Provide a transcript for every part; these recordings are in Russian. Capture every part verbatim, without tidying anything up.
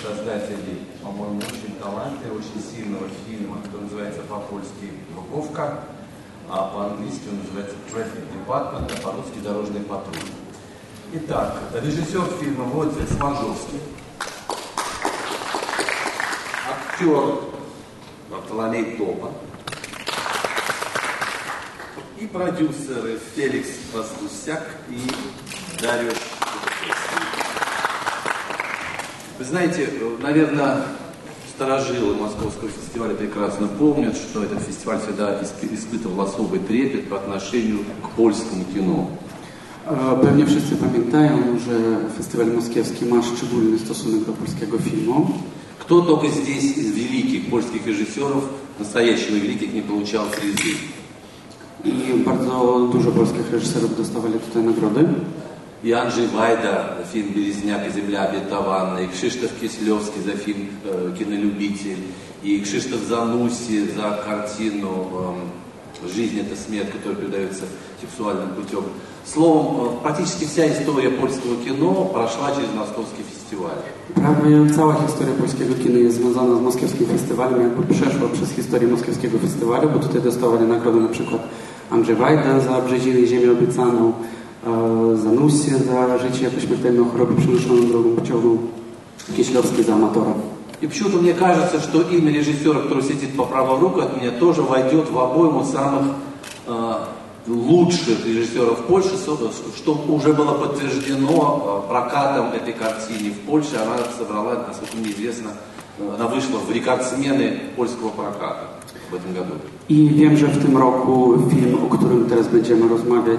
создателей, по-моему, очень талантливого, очень сильного фильма, который называется по-польски «Парковка», а по-английски он называется «Traffic Department», а по-русски «Дорожный патруль». Итак, режиссер фильма Владимир Сморжовский, актер Вартоломей Топа и продюсеры Феликс Воздусяк и Дарья. Вы знаете, наверное, старожилы Московского фестиваля прекрасно помнят, что этот фестиваль всегда испытывал особый трепет по отношению к польскому кино. Pewnie wszyscy pamiętają, że festiwal moskiewski ma szczególny stosunek do polskiego filmu. Кто только здесь из великих польских режиссеров, настоящих великих, не получал призы? I bardzo dużo polskich reżyserów dostawali tutaj nagrody. И Анджей Вайда за фильм «Березняк и земля обетованная», и Кшиштоф Кислевский за фильм э, «Кинолюбитель», и Кшиштоф Занусси за картину э, «Жизнь – это смерть», которая передается сексуальным путем. Словом, э, практически вся история польского кино прошла через Московский фестиваль. Prawie cała historia polskiego kina jest związana z moskiewskim festiwalem, jakby przeszła przez historię moskiewskiego festiwalu, bo tutaj dostawali nagrody na przykład Andrzej Wajda za Brzeziny i Ziemię obiecaną, Занусси за «Życie jako śmiertelną chorobę przenoszoną drogą pociągną», Кислевский за «Аматора». И почему-то мне кажется, что имя режиссера, который сидит по правую руку от меня, тоже войдет в обойму самых э, лучших режиссеров Польши, что уже было подтверждено прокатом этой картины в Польше. Она собрала, насколько мне известно, она вышла в рекордсмены польского проката в этом году. I wiem, że w tym roku film, o którym teraz będziemy rozmawiać,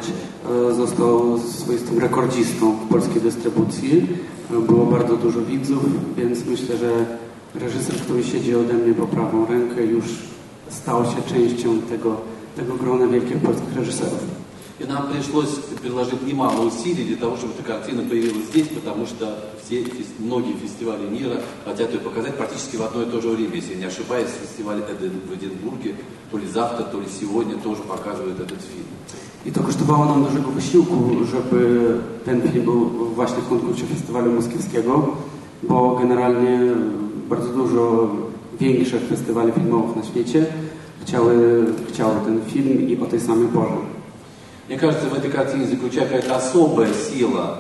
został swoistym rekordzistą w polskiej dystrybucji. Było bardzo dużo widzów, więc myślę, że reżyser, który siedzi ode mnie po prawą rękę, już stał się częścią tego, tego grona wielkich polskich reżyserów. И нам пришлось приложить немало усилий для того, чтобы эта картина появилась здесь, потому что все, многие фестивали мира хотят ее показать практически в одно и то же время. Если не ошибаюсь, фестиваль в Эдинбурге то ли завтра, то ли сегодня тоже показывает этот фильм. I to kosztowało nam dużego wysiłku, żeby ten film był właśnie w konkursie festiwalu moskiewskiego, bo generalnie bardzo dużo większych festiwali filmowych na świecie chciały, chciały ten film i o tej samej porze. Мне кажется, в этой картине заключается какая-то особая сила.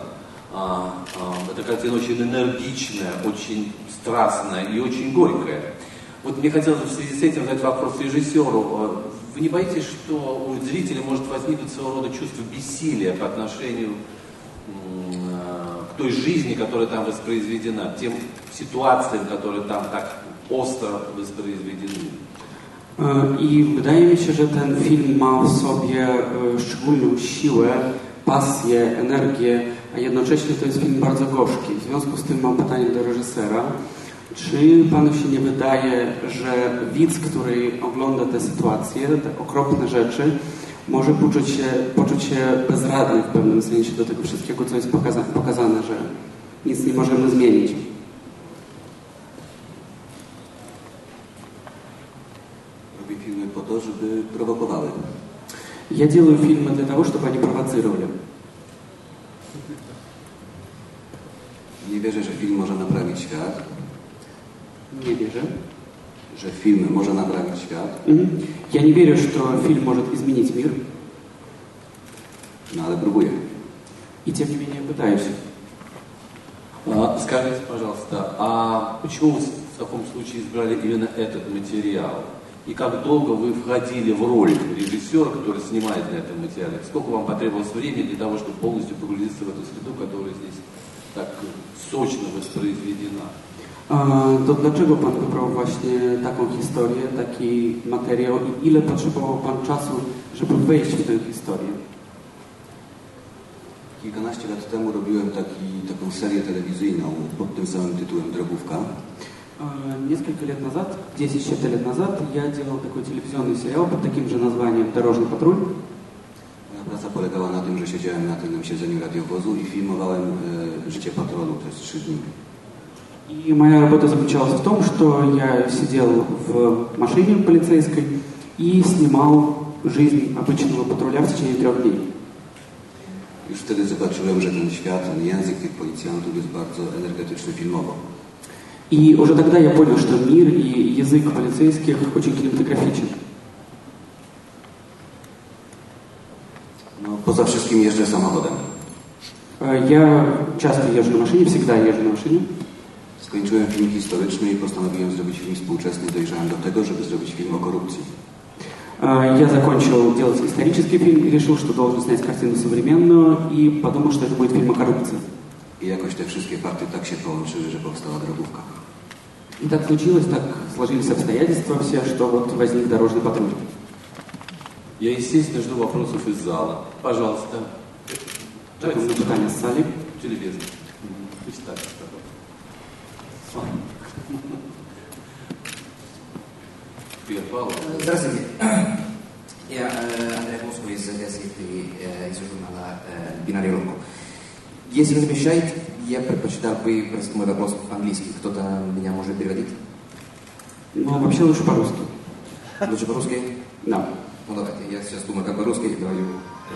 А, а, эта картина очень энергичная, очень страстная и очень горькая. Вот мне хотелось в связи с этим задать вопрос режиссеру. Вы не боитесь, что у зрителя может возникнуть своего рода чувство бессилия по отношению к той жизни, которая там воспроизведена, тем ситуациям, которые там так остро воспроизведены? I wydaje mi się, że ten film ma w sobie szczególną siłę, pasję, energię, a jednocześnie to jest film bardzo gorzki. W związku z tym mam pytanie do reżysera. Czy panu się nie wydaje, że widz, który ogląda te sytuacje, te okropne rzeczy, może poczuć się, poczuć się bezradny w pewnym sensie do tego wszystkiego, co jest pokaza- pokazane, że nic nie możemy zmienić? Filmy po to, żeby prowokowały. Я делаю фильмы для того, чтобы они провоцировали. Nie wierzę, że film może naprawić świat. Nie wierzę. Że film może naprawić świat. Mhm. Я не верю, что фильм может изменить мир. No ale próbuję. И тем не менее пытаюсь. А, скажите, пожалуйста, а почему вы в таком случае избрали именно этот материал? И как долго вы входили в роль режиссера, который снимает на этом материале? Сколько вам потребовалось времени для того, чтобы полностью погрузиться в эту среду, которая здесь так сочно воспроизведена? A, to dlaczego pan wybrał właśnie taką historię, taki materiał i ile potrzebował pan czasu, żeby wejść w tę historię? Kilkanaście lat temu robiłem taki, taką serię telewizyjną pod tym samym tytułem Drogówka. Несколько лет назад, десять лет назад, я делал такой телевизионный сериал под таким же названием «Дорожный патруль». Moja praca polegała na tym, że siedziałem na tylnym siedzeniu radiowozu i filmowałem e, życie patrolu przez trzy dni. И моя работа заключалась в том, что я сидел в машине полицейской и снимал жизнь обычного патруля в течение трех дней. Już wtedy zobaczyłem, że ten świat, ten język tych policjantów jest bardzo energetyczny filmowo. И уже тогда я понял, что мир и язык полицейских очень кинематографичен. No, poza wszystkim jeżdżę samochodem. Я часто езжу на машине, всегда езжу на машине. Skończyłem film historyczny i postanowiłem zrobić film współczesny. Dojrzałem do tego, żeby zrobić film o korupcji. Я закончил делать исторический фильм и решил, что должен снять картину современную, и подумал, что это будет фильм о коррупции. I jakoś te wszystkie fakty tak się połączyły, że powstała drogówka. И так случилось, так сложились обстоятельства все, что вот возник дорожный патруль. Я, естественно, жду вопросов из зала. Пожалуйста. Давайте запитання з залі. Телевизор. Пусть так. Привет, Павел. Здравствуйте. Я э, Андрей Моско из газеты, э, из журнала э, «Бинарий Рокко». Если не мешает, я предпочитал бы просто мой вопрос по-английски. Кто-то меня может переводить? Ну, вообще лучше по-русски. Лучше по-русски? Да. Ну, давайте. Я сейчас думаю, как по-русски и говорю.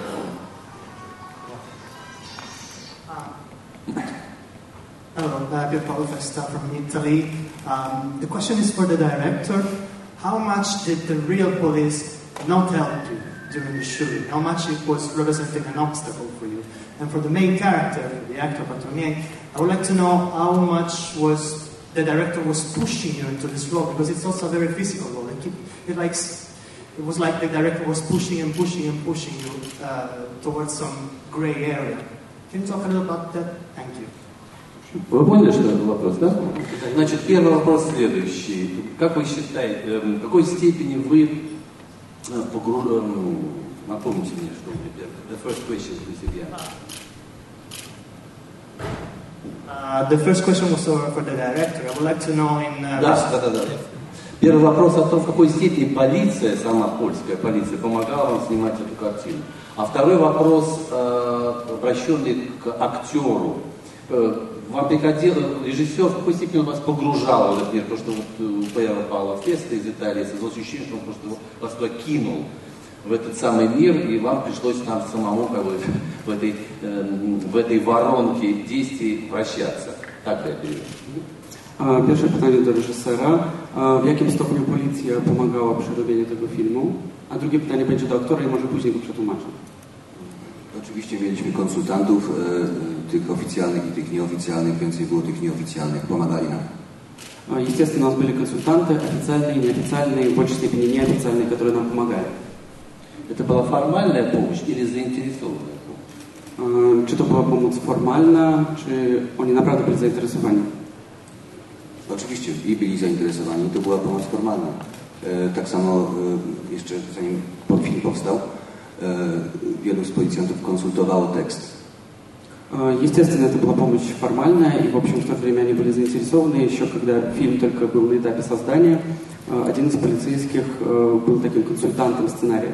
Hello, uh, Pier Paolo Festa from Italy. Um, the question is for the director. How much did the real police not help you during the shooting? How much it was representing an obstacle for you? And for the main character, the actor Patronier, I would like to know how much was the director was pushing you into this role, because it's also a very physical role. It, it, like, it was like the director was pushing and pushing and pushing you uh, towards some gray area. Can you talk a little about that? Thank you. Вы поняли, что это вопрос, да? Значит, первый вопрос следующий. Как вы считаете, в какой степени вы погружены... Напомните мне, что у меня первое. The first question, please, again. Uh, the first question was for the director. I would like to know in... Uh, да, да, да, да. Первый вопрос о том, в какой степени полиция, сама польская полиция, помогала вам снимать эту картину. А второй вопрос, э, обращенный к актеру. Э, Вам приходило, режиссер, в какой степени он вас погружал в этот мир? Потому что вот у Пьера Паула Феста из Италии создалось ощущение, что он просто вас туда кинул, в этот самый мир, и вам пришлось там самому как бы, в, этой, э, в этой воронке действий вращаться. Так я перевожу. Pierwsze pytanie do reżysera. W jakim stopniu policja pomagała przy robieniu tego filmu? A drugie pytanie będzie do aktora i może później go przetłumaczę. Oczywiście mieliśmy konsultantów, e, tych oficjalnych i tych nieoficjalnych, więcej było tych nieoficjalnych, pomagali nam. Естественно, у нас были консультанты, официальные, неофициальные, в большей степени неофициальные, которые нам помогали. Это была формальная помощь или заинтересованная помощь? Czy to była pomoc formalna, czy oni naprawdę byli zainteresowani? Oczywiście i byli zainteresowani, to była pomoc formalna. E, tak samo e, jeszcze zanim film powstał, wielu z policjantów konsultowało tekst. Естественно, это была помощь формальная, и, в общем, в то время они были заинтересованы. Еще когда фильм только был на этапе создания, один из полицейских был таким консультантом сценария.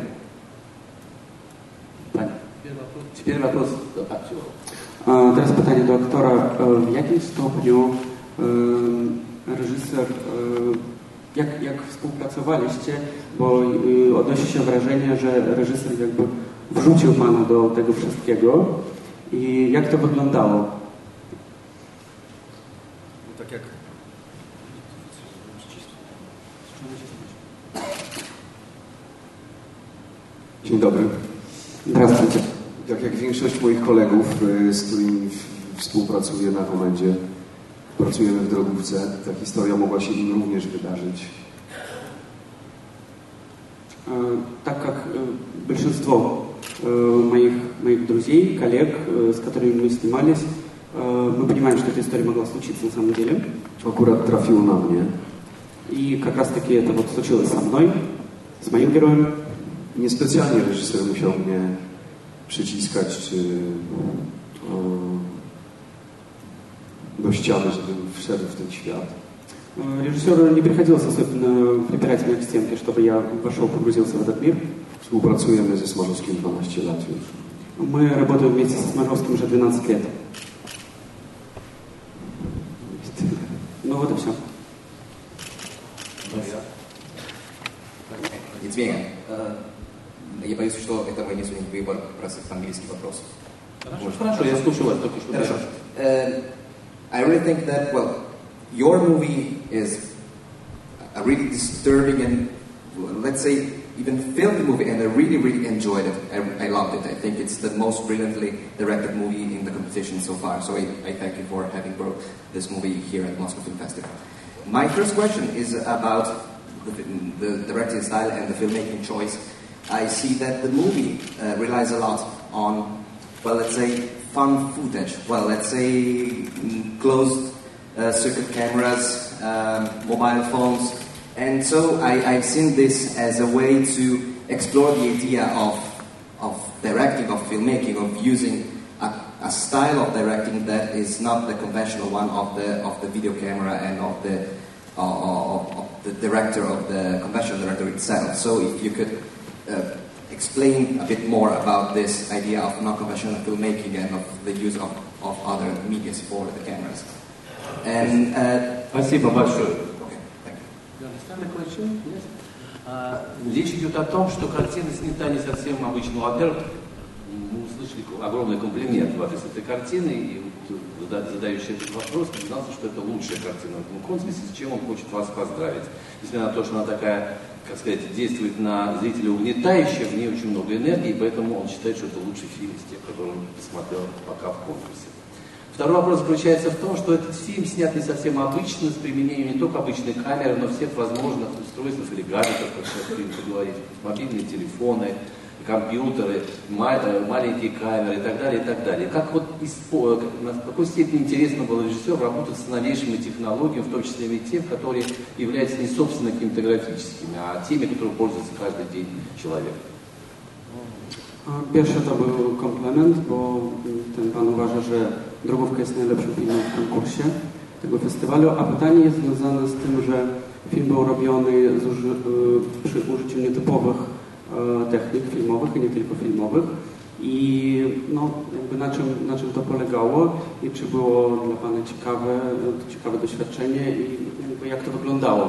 Теперь вопрос актера. Teraz pytanie do aktora. W jakim stopniu reżyser... Jak, jak współpracowaliście, bo y, odnosi się wrażenie, że reżyser jakby wrzucił pana do tego wszystkiego i jak to wyglądało? Tak jak... Dzień dobry. Здравствуйте. Tak jak większość moich kolegów, z którymi współpracuję na komendzie, pracujemy w drogówce, ta historia mogła się im również wydarzyć. Так как большинство моих, моих друзей, коллег, с которыми мы снимались, мы понимаем, что эта история могла случиться на самом деле. Akurat trafiło na mnie. И как раз таки это вот случилось со мной, с моим героем. Niespecjalnie reżyser musiał mnie przyciskać czy o, do ściany, żebym wszedł w ten świat. Режиссеру не приходилось особенно припирать меня к стенке, чтобы я вошел, погрузился в этот мир. Współpracujemy ze Smarzowskim dwanaście lat już. Мы работаем вместе с Смажовским уже двенадцать лет. Ну вот и все. Евгения, я боюсь, что это мой несуний выбор просто английский вопрос. Хорошо, хорошо, я слушаю вас только что. Хорошо. Uh, I really think that, well, your movie is a really disturbing and, let's say, even filmed movie, and I really, really enjoyed it. I, I loved it. I think it's the most brilliantly directed movie in the competition so far. So I, I thank you for having brought this movie here at Moscow Film Festival. My first question is about the, the directing style and the filmmaking choice. I see that the movie uh, relies a lot on, well, let's say, fun footage. Well, let's say mm, closed uh, circuit cameras, um, mobile phones. And so I, I've seen this as a way to explore the idea of, of directing, of filmmaking, of using a, a style of directing that is not the conventional one of the, of the video camera and of the, uh, of, of the director, of the conventional director itself. So if you could uh, explain a bit more about this idea of non-conventional filmmaking and of the use of, of other medias for the cameras. And, uh, Спасибо большое. The question? Yes. Uh, речь идет о том, что картина снята не совсем обычно. Во-первых, мы услышали огромный комплимент в адрес этой картины, и задающий этот вопрос признался, что это лучшая картина в этом конкурсе, с чем он хочет вас поздравить. Несмотря на то, что она такая, как сказать, действует на зрителя угнетающе, в ней очень много энергии, поэтому он считает, что это лучший фильм из тех, которые он посмотрел пока в конкурсе. Второй вопрос заключается в том, что этот фильм снят не совсем обычно, с применением не только обычной камеры, но всех возможных устройств или гаджетов, как сейчас принято говорить, мобильные телефоны, компьютеры, маленькие камеры и так далее, и так далее. Как вот, в какой степени интересно было режиссеру работать с новейшими технологиями, в том числе и тех, которые являются не собственно кинематографическими, а теми, которые пользуется каждый день человек. Pierwszy to był komplement, bo ten pan uważa, że Drogówka jest najlepszym filmem w konkursie tego festiwalu, a pytanie jest związane z tym, że film był robiony z uży, przy użyciu nietypowych technik filmowych i nie tylko filmowych i no, jakby na czym, na czym to polegało i czy było dla pana ciekawe, ciekawe doświadczenie i jakby jak to wyglądało.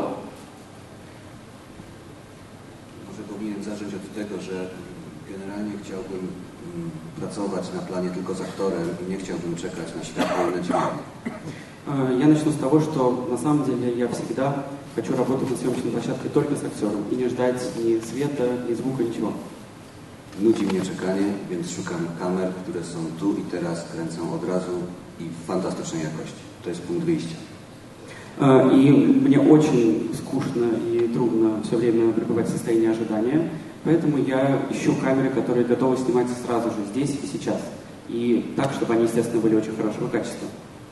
Może powinienem zacząć od tego, że generalnie chciałbym mm, pracować na planie tylko z aktorem i nie chciałbym czekać na światło i na dźwięk. Я начну с того, что на самом деле я всегда хочу работать на съемочной площадке только с актером и не ждать ни света, ни звука, ничего. Nudzi mnie czekanie, więc szukam kamer, które są tu i teraz, kręcą od razu i w fantastycznej jakości. To jest punkt wyjścia. И мне очень скучно и трудно все время пребывать в состоянии ожидания. Поэтому я ищу камеры, которые готовы снимать сразу же, здесь и сейчас. И так, чтобы они, естественно, были очень хорошего качества.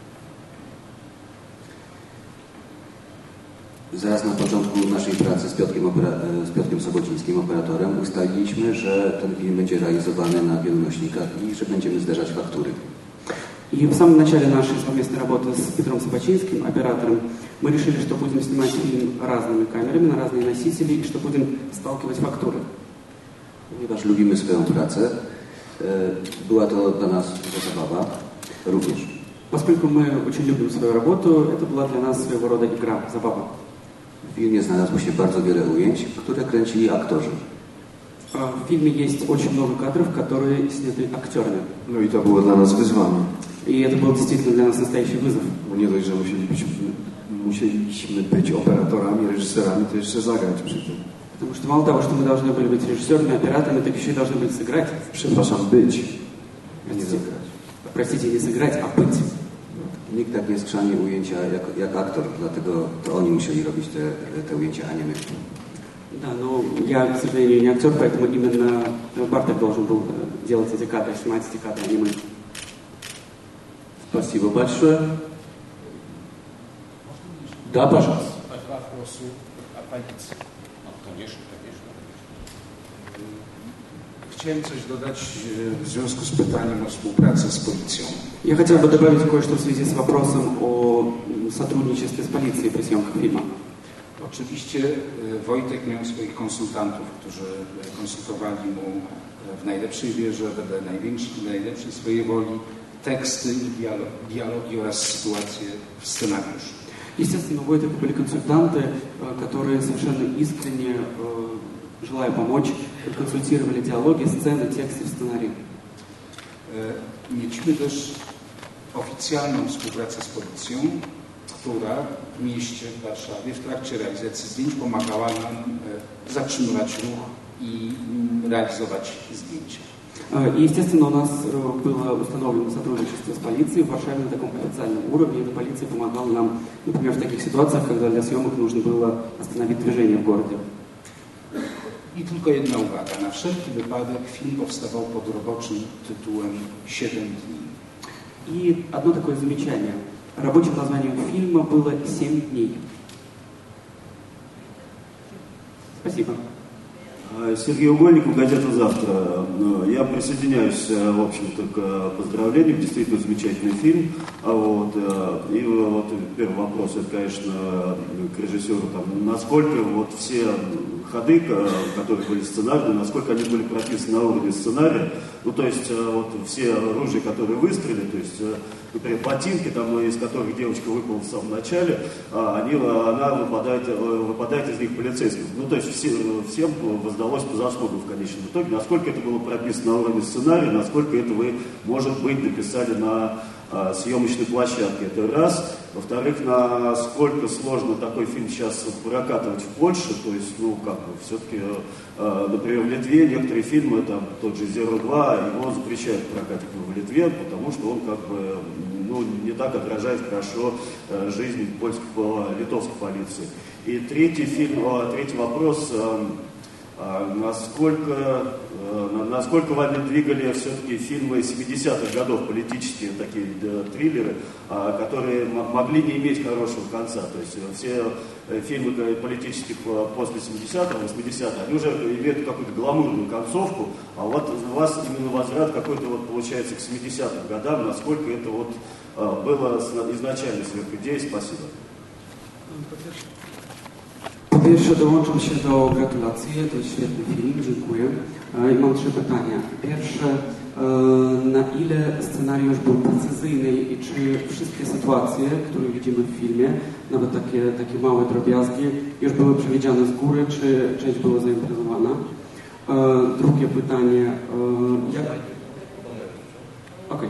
Zaraz na początku naszej pracy z Piotrkiem, z Piotrkiem Sobocińskim, operatorem, ustaliliśmy, że ten film będzie realizowany na wielu nośnikach i że będziemy zderzać faktury. И в самом начале нашей совместной работы с Петром Собочинским, оператором, мы решили, что будем снимать фильм разными камерами на разные носители и что будем сталкивать фактуры. Ponieważ lubimy swoją pracę, była to dla nas zabawa również. Поскольку мы очень любим свою работу, это была для нас своего рода игра, забава. W filmie znalazło się bardzo wiele ujęć, które kręcili aktorzy. В фильме есть очень много кадров, которые сняты актерами. No i to było dla nas wyzwanie. И это был действительно для нас настоящий вызов. Bo nie dość, że musieli być, musieliśmy być operatorami, reżyserami, to jeszcze zagrać przy tym. Потому что мало того, что мы должны были быть режиссерами, операторами, так еще и должны были сыграть. Przepraszam, być, a nie zagrać. Простите, не сыграть, а быть. Nikt tak nie skrzani ujęcia jak, jak aktor, dlatego to oni musieli robić te, te ujęcia, a nie my. Да, но я, к сожалению, не актер, поэтому именно Барток должен был делать эти кадры, снимать эти кадры, а не мы. Спасибо большое. Да, пожалуйста. Вопросу оппозиции. Ну, конечно, конечно. Chciałem coś dodać w związku z pytaniem o współpracę z policją. Я хотел бы добавить кое-что в связи с вопросом о сотрудничестве с полицией при съемках фильма. Oczywiście Wojtek miał swoich konsultantów, którzy konsultowali mu w najlepszej wierze, wedle najlepszej swojej woli teksty i dialogi oraz sytuacje w scenariuszu. Естественно, у Войтека были консультанты, которые совершенно искренне, желая помочь, консультировали диалоги, сцены, тексты в сценарии. Mieliśmy też oficjalną współpracę z policją. która w mieście, w Warszawie, w trakcie realizacji zdjęć pomagała nam zatrzymywać ruch i realizować zdjęcia. И, естественно, у нас было установлено сотрудничество с полицией в Варшаве на таком официальном уровне. И эта полиция помогала нам, например, в таких ситуациях, когда для съемок нужно было остановить движение в городе. I tylko jedna uwaga. Na wszelki wypadek film powstawał pod roboczym tytułem siedem dni. И одно такое замечание. Рабочим названием фильма было «Семь дней». Спасибо. Сергей Угольников, газета «Завтра». Я присоединяюсь, в общем-то, к поздравлениям. Действительно замечательный фильм. А вот, и вот первый вопрос, это, конечно, к режиссеру. Там, насколько вот все ходы, которые были сценарные, насколько они были прописаны на уровне сценария. Ну, то есть, вот все оружия, которые выстрелили, то есть, например, ботинки, там, из которых девочка выпала в самом начале, они, она выпадает, выпадает из них полицейских. Ну, то есть, все, всем воздалось по заслугам в конечном итоге. Насколько это было прописано на уровне сценария, насколько это вы, может быть, написали на а, съемочной площадке. Это раз. Во-вторых, насколько сложно такой фильм сейчас прокатывать в Польше. То есть, ну, как бы, все-таки, а, например, в Литве некоторые фильмы, там, тот же «Зеро два», его запрещают прокатывать в Литве, потому что он, как бы, ну, не так отражает хорошо а, жизнь польской, литовской полиции. И третий фильм, а, третий вопрос. А, Насколько, насколько вами двигали все-таки фильмы семидесятых годов, политические такие триллеры, которые могли не иметь хорошего конца? То есть все фильмы политических после семидесятых, восьмидесятых, они уже имеют какую-то гламурную концовку, а вот у вас именно возврат какой-то вот получается к семидесятым годам, насколько это вот было изначально сверхидеей? Спасибо. Po pierwsze, dołączam się do gratulacji, to jest świetny film, dziękuję. I mam trzy pytania. Pierwsze, na ile scenariusz był precyzyjny i czy wszystkie sytuacje, które widzimy w filmie, nawet takie, takie małe drobiazgi, już były przewidziane z góry, czy część była zaimprowizowana? Drugie pytanie, jak... Okej.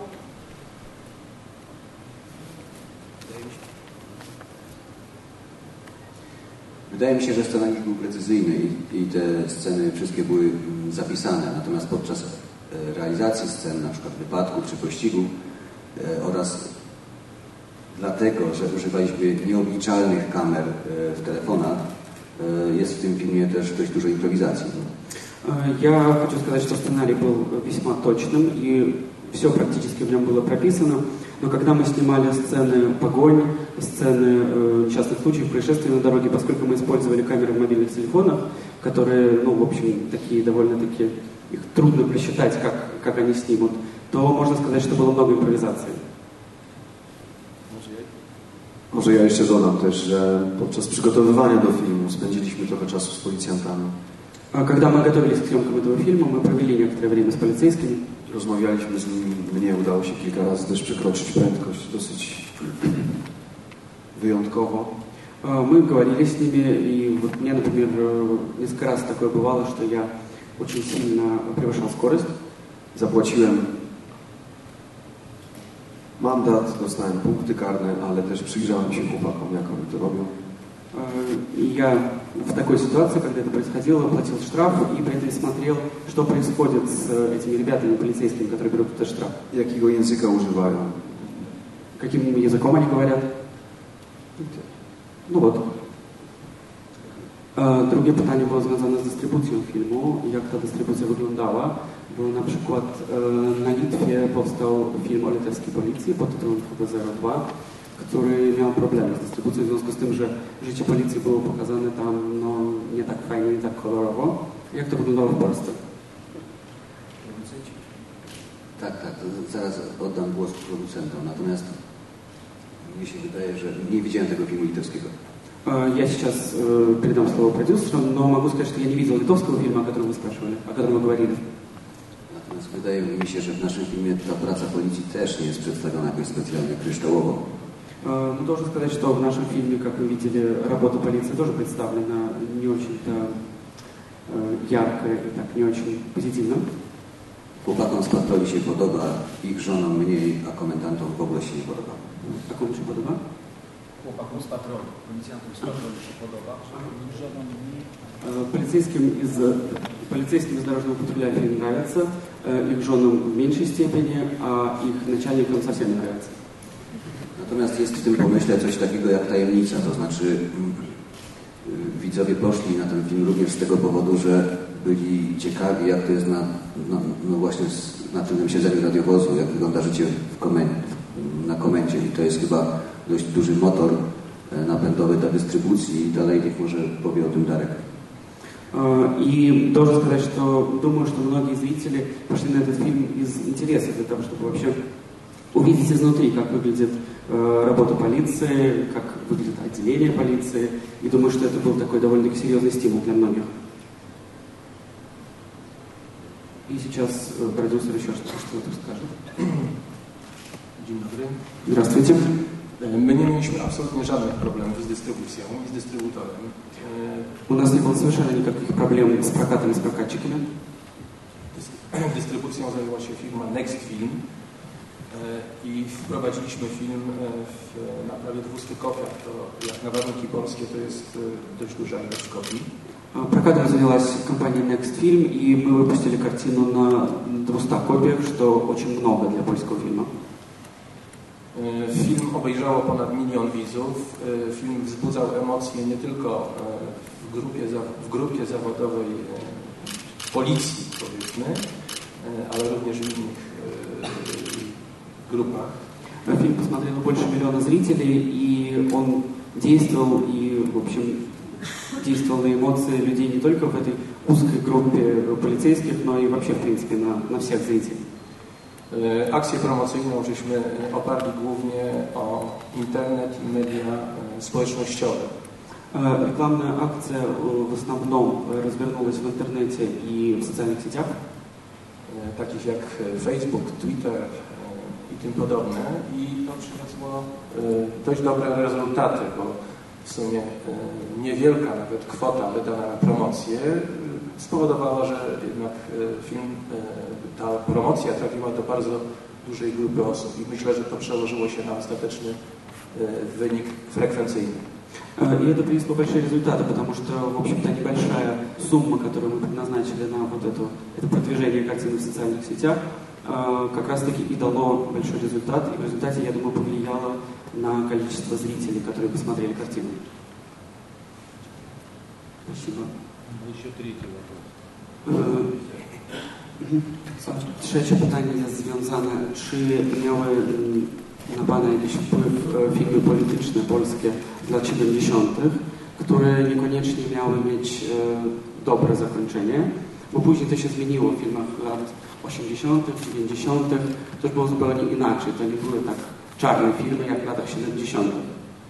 Wydaje mi się, że scenariusz był precyzyjny i, i te sceny wszystkie były zapisane, natomiast podczas realizacji scen, na przykład wypadków czy pościgu oraz dlatego, że używaliśmy nieobliczalnych kamer w telefonach, jest w tym filmie też dość dużo improwizacji. Я хочу сказать, что сценарий был весьма точным и все практически в нем было прописано. Но когда мы снимали сцены погонь, сцены э, несчастных случаев, происшествий на дороге, поскольку мы использовали камеры в мобильных телефонах, которые, ну, в общем, такие довольно-таки, их трудно просчитать, как, как они снимут, то можно сказать, что было много импровизации. Może ja jeszcze dodam też, że podczas przygotowywania do filmu spędziliśmy trochę czasu z policjantami. Когда мы готовились к съемкам этого фильма, мы провели некоторое время с полицейскими. Rozmawialiśmy z nimi, mnie udało się kilka razy też przekroczyć prędkość dosyć wyjątkowo. Мы говорили с ними, и вот мне, например, несколько раз такое бывало, что я очень сильно превышал скорость. Zapłaciłem mandat, dostałem punkty karne, ale też przyjrzałem się chłopakom, jak oni to robią. И я в такой ситуации, когда это происходило, платил штраф и при этом смотрел, что происходит с этими ребятами, полицейскими, которые берут этот штраф. Jakiego języka używają? Каким языком они говорят? Ну вот. Drugie pytanie było związane z dystrybucją filmu. Jak ta dystrybucja wyglądała? Bo na przykład na Litwie powstał film o litewskiej policji pod tytułem H B zero dwa, który miał problemy z dystrybucją w związku z tym, że życie policji było pokazane tam no, nie tak fajnie, nie tak kolorowo. Jak to wyglądało w Polsce? Tak, tak, zaraz oddam głos producentom, natomiast mnie się wydaje, że nie widziałem tego filmu litewskiego. Я сейчас э, передам слово продюсеру, но могу сказать, что я не видел литовского фильма, о котором вы спрашивали, о котором вы говорили. Natomiast wydaje mi się, że w naszym filmie ta praca policji też nie jest przedstawiona jakoś specjalnie kryształowo. Ну, должен сказать, что в нашем фильме, как вы видели, работа полиции тоже представлена не очень-то ярко и так не очень позитивно. Chłopakom z patroli się podoba, ich żonom mniej, a komendantom w ogóle się nie podoba. A komu się podoba? z patrolu, policjantom z patrolu się podoba? Полицейским из, полицейским из дорожного патруля фильм нравится, их женам в меньшей степени, а их начальникам совсем не нравится. Natomiast jest w tym pomyśle coś takiego jak tajemnica, to znaczy widzowie poszli na ten film również z tego powodu, że byli ciekawi, jak to jest na, no, no właśnie na tylnym siedzeniu radiowozu, jak wygląda życie w komendzie, na komendzie i to jest chyba dość duży motor napędowy dla dystrybucji i dalej niech może powie o tym Darek. И должен сказать, что думаю, что многие зрители пошли на этот фильм из интереса, для того, чтобы вообще увидеть изнутри, как выглядит э, работа полиции, как выглядит отделение полиции. И думаю, что это был такой довольно-таки серьезный стимул для многих. И сейчас э, продюсер еще что-то скажет. Dzień dobry. Здравствуйте. My nie mieliśmy absolutnie żadnych problemów z dystrybucją i z dystrybutorem. У нас не было совершенно никаких проблем с прокатом и с прокатчиками. Dystrybucją zajęła się firma Next Film i wprowadziliśmy film w, na prawie dwustu kopiach. To jak na warunki polskie to jest dość duża ilość kopii. Прокатом занялась компания Next Film, и мы выпустили картину на двухстах копиях, что очень много для польского фильма. Film obejrzało ponad milion widzów. Film wzbudzał emocje nie tylko w grupie, w grupie zawodowej policji, powiedzmy, ale również w innych группах. Фильм посмотрело больше миллиона зрителей, и он действовал, и, в общем, действовал на эмоции людей не только в этой узкой группе полицейских, но и вообще, в принципе, на, на всех зрителей. Akcję promocyjną żeśmy oparli głównie o internet i media społecznościowe. Рекламная акция в основном развернулась в интернете и в социальных сетях, takich jak Facebook, Twitter i tym podobne. I to przyniosło dość dobre rezultaty, bo w sumie niewielka nawet kwota wydana na promocję spowodowała, że jednak film, ta promocja trafiła do bardzo dużej grupy osób i myślę, że to przełożyło się na ostateczny wynik frekwencyjny. И это принесло большие результаты, потому что, в общем-то, небольшая сумма, которую мы предназначили на вот это, это продвижение картины в социальных сетях, как раз-таки и дало большой результат, и в результате, я думаю, повлияло на количество зрителей, которые посмотрели картину. Спасибо. Еще третий вопрос. Trzecie pytanie jest związane, czy miały na Pana jakiś wpływ filmy polityczne polskie z lat siedemdziesiątych, które niekoniecznie miały mieć dobre zakończenie, bo później to się zmieniło w filmach lat osiemdziesiątych, dziewięćdziesiątych, to już było zupełnie inaczej, to nie były tak czarne filmy jak w latach siedemdziesiątych.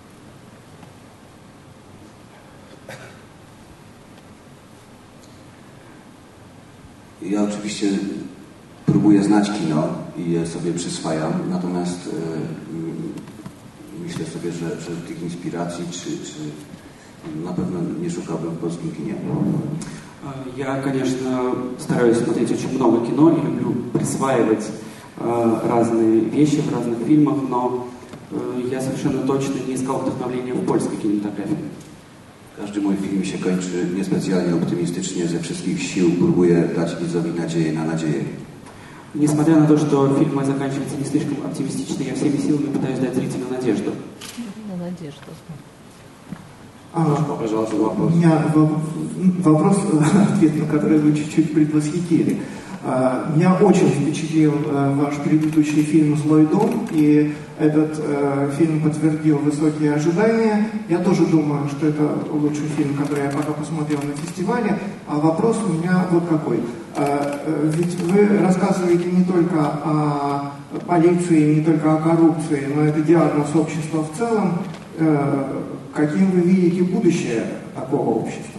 Ja oczywiście próbuję znać kino i je sobie przyswajam, natomiast e, myślę sobie, że, że tych inspiracji czy, czy na pewno nie szukałbym w polskim kinie. Я, конечно, стараюсь смотреть очень много кино и люблю присваивать э, разные вещи в разных фильмах, но э, я совершенно точно не искал вдохновения в польской кинематографии. Każdy mój film się kończy niespecjalnie optymistycznie, ze wszystkich sił próbuję dać widzowi nadzieję na nadzieję. Несмотря на то, что фильм мой заканчивается не слишком оптимистично, я всеми силами пытаюсь дать зрителю надежду. На надежду. А, у меня вопрос, ответ на который вы чуть-чуть предвосхитили. Меня очень впечатлил ваш предыдущий фильм «Злой дом», и этот э, фильм подтвердил высокие ожидания. Я тоже думаю, что это лучший фильм, который я пока посмотрел на фестивале. А вопрос у меня вот какой. Э, ведь вы рассказываете не только о полиции, не только о коррупции, но это диагноз общества в целом. Э, каким вы видите будущее такого общества?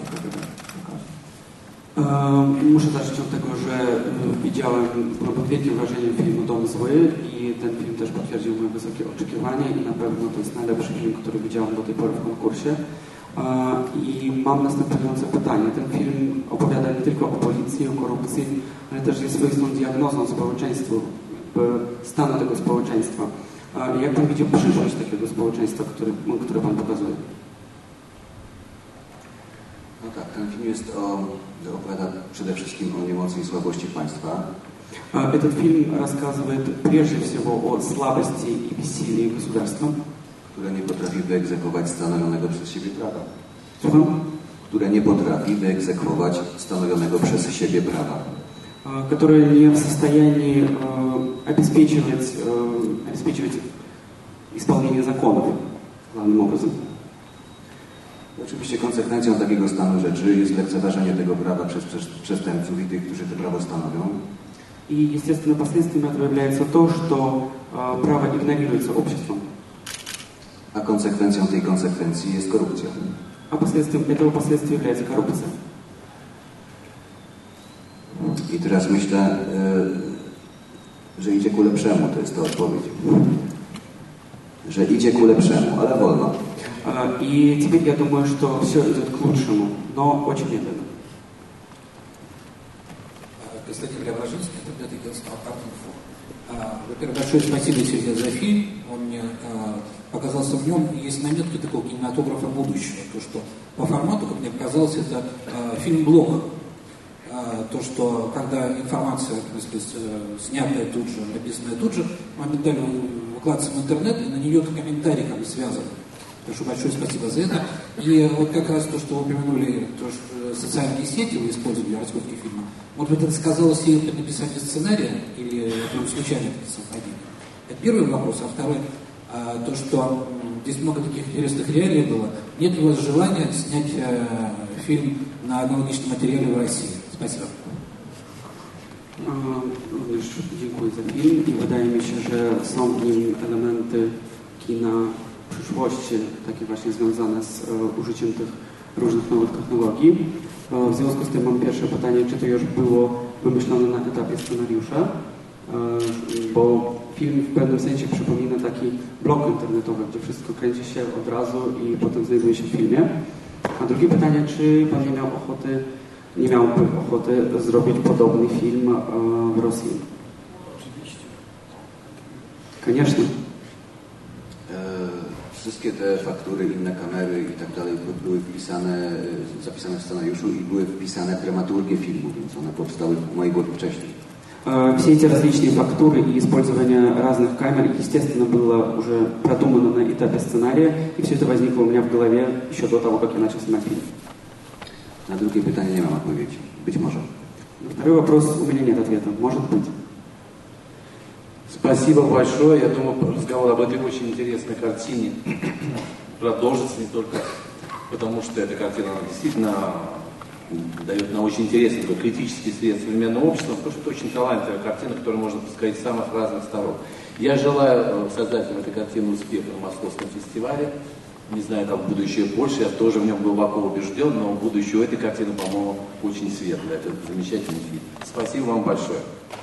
Muszę zacząć od tego, że widziałem, byłem pod wielkim wrażeniem filmu Dom Zły i ten film też potwierdził moje wysokie oczekiwania i na pewno to jest najlepszy film, który widziałem do tej pory w konkursie. I mam następujące pytanie. Ten film opowiada nie tylko o policji, o korupcji, ale też jest swoistą diagnozą społeczeństwa, stanu tego społeczeństwa. Jak pan widzi przyszłość takiego społeczeństwa, które, które pan pokazuje? No tak, ten film jest o, opowiada przede wszystkim o niemocy i słabości państwa. Этот фильм рассказывает прежде всего о слабости и бессилии государства, które nie potrafi wyegzekwować stanowionego przez siebie prawa. Słucham? Które nie potrafi wyegzekwować stanowionego przez siebie prawa. Которые не в состоянии обеспечивать, обеспечивать исполнение законов главным образом. Oczywiście konsekwencją takiego stanu rzeczy jest lekceważenie tego prawa przez przestępców i tych, którzy to prawo stanowią. И, естественно, последствием этого является то, что э, право игнорируется обществом. A konsekwencją tej konsekwencji jest korupcja. А последствием этого последствия является коррупция. I teraz myślę, y, że idzie ku lepszemu, to jest ta odpowiedź. Że idzie ku lepszemu, ale wolno. Э, и теперь я думаю, что все идет к лучшему, но очень медленно. Константин Преображенский, интернет агентство Art-Info. Во-первых, большое спасибо тебе за фильм. Он мне показался, в нем есть наметки такого кинематографа будущего. То, что по формату, как мне показалось, это фильм-блог. То, что когда информация, так сказать, снятая тут же, написанная тут же, моментально выкладывается в интернет, и на нее комментарий как бы связан. Так что большое спасибо за это. И вот как раз то, что вы упомянули, то, что социальные сети вы использовали в раскрутке фильма, может быть, это сказалось и при написании сценария, или это случайно это совпадение? Это первый вопрос. А второй, а, то, что здесь много таких интересных реалий было. Нет ли у вас желания снять э, фильм на аналогичном материале в России? Спасибо. Również dziękuję za film i wydaje mi się, że są w nim elementy kina przyszłości, takie właśnie związane z e, użyciem tych różnych nowych technologii. E, w związku z tym mam pierwsze pytanie, czy to już było wymyślone na etapie scenariusza, e, bo film w pewnym sensie przypomina taki blog internetowy, gdzie wszystko kręci się od razu i potem znajduje się w filmie. A drugie pytanie, czy pan nie miał ochoty, nie miałby ochoty zrobić podobny film e, w Rosji? Oczywiście. Конечно. Wszystkie te faktury, inne kamery i tak dalej były wpisane, zapisane w scenariuszu i były wpisane w dramaturgię filmu, więc one powstały w mojej głowie wcześniej. Все эти различные фактуры и использование разных камер, естественно, было уже продумано на этапе сценария, и все это возникло у меня в голове еще до того, как я начал снимать фильм. Na drugie pytanie nie mam odpowiedzi. Być może. На второй вопрос у меня нет ответа. Может быть. Спасибо большое. Я думаю, разговор об этой очень интересной картине продолжится не только потому, что эта картина она действительно дает нам очень интересный такой критический свет современного общества, потому что это очень талантливая картина, которую можно посмотреть с самых разных сторон. Я желаю создателям этой картины успеха на Московском фестивале. Не знаю, как будущее больше, я тоже в нем глубоко убежден, но будущее у этой картины, по-моему, очень светлое. Это замечательный фильм. Спасибо вам большое.